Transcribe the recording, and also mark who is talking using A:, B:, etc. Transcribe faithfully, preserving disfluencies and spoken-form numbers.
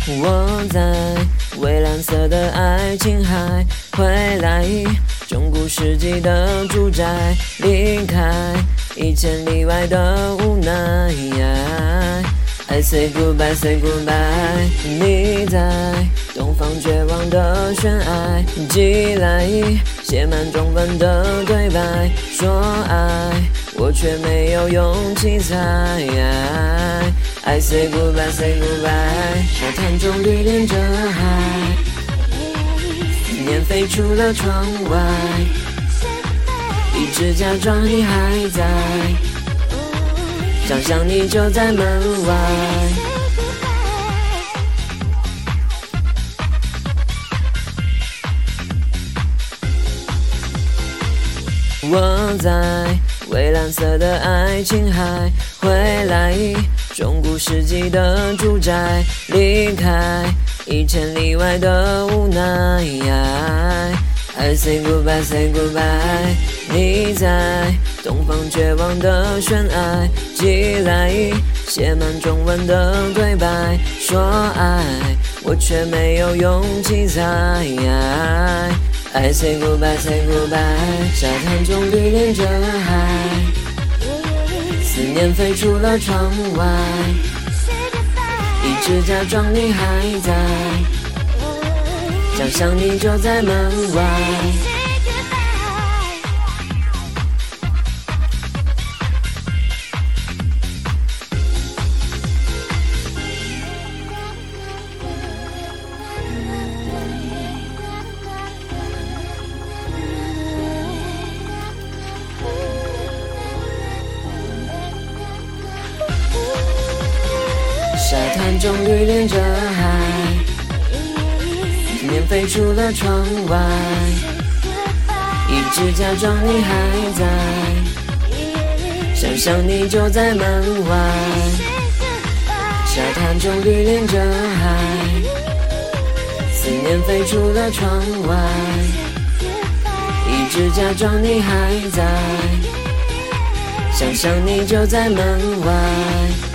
A: 我在蔚蓝色的爱琴海回来，中古世纪的住宅，离开一千里外的无奈。I say goodbye, say goodbye。你在东方绝望的悬崖，寄来写满中文的对白，说爱我却没有勇气猜。I say goodbye, say goodbye。沙滩中绿连着海，思念飞出了窗外，一直假装你还在，想象你就在门外。我在蔚蓝色的爱琴海回来，中古世纪的住宅，离开一千里外的无奈。I say goodbye, say goodbye。你在东方绝望的悬崖，寄来写满中文的对白，说爱我却没有勇气猜。I say goodbye, say goodbye。沙滩中绿连着海，思念飞出了窗外，一直假装你还在，想象你就在门外。沙滩中绿连着海，思念飞出了窗外，一直假装你还在，想象你就在门外。沙滩中绿连着海，思念飞出了窗外，一直假装你还在，想象你就在门外。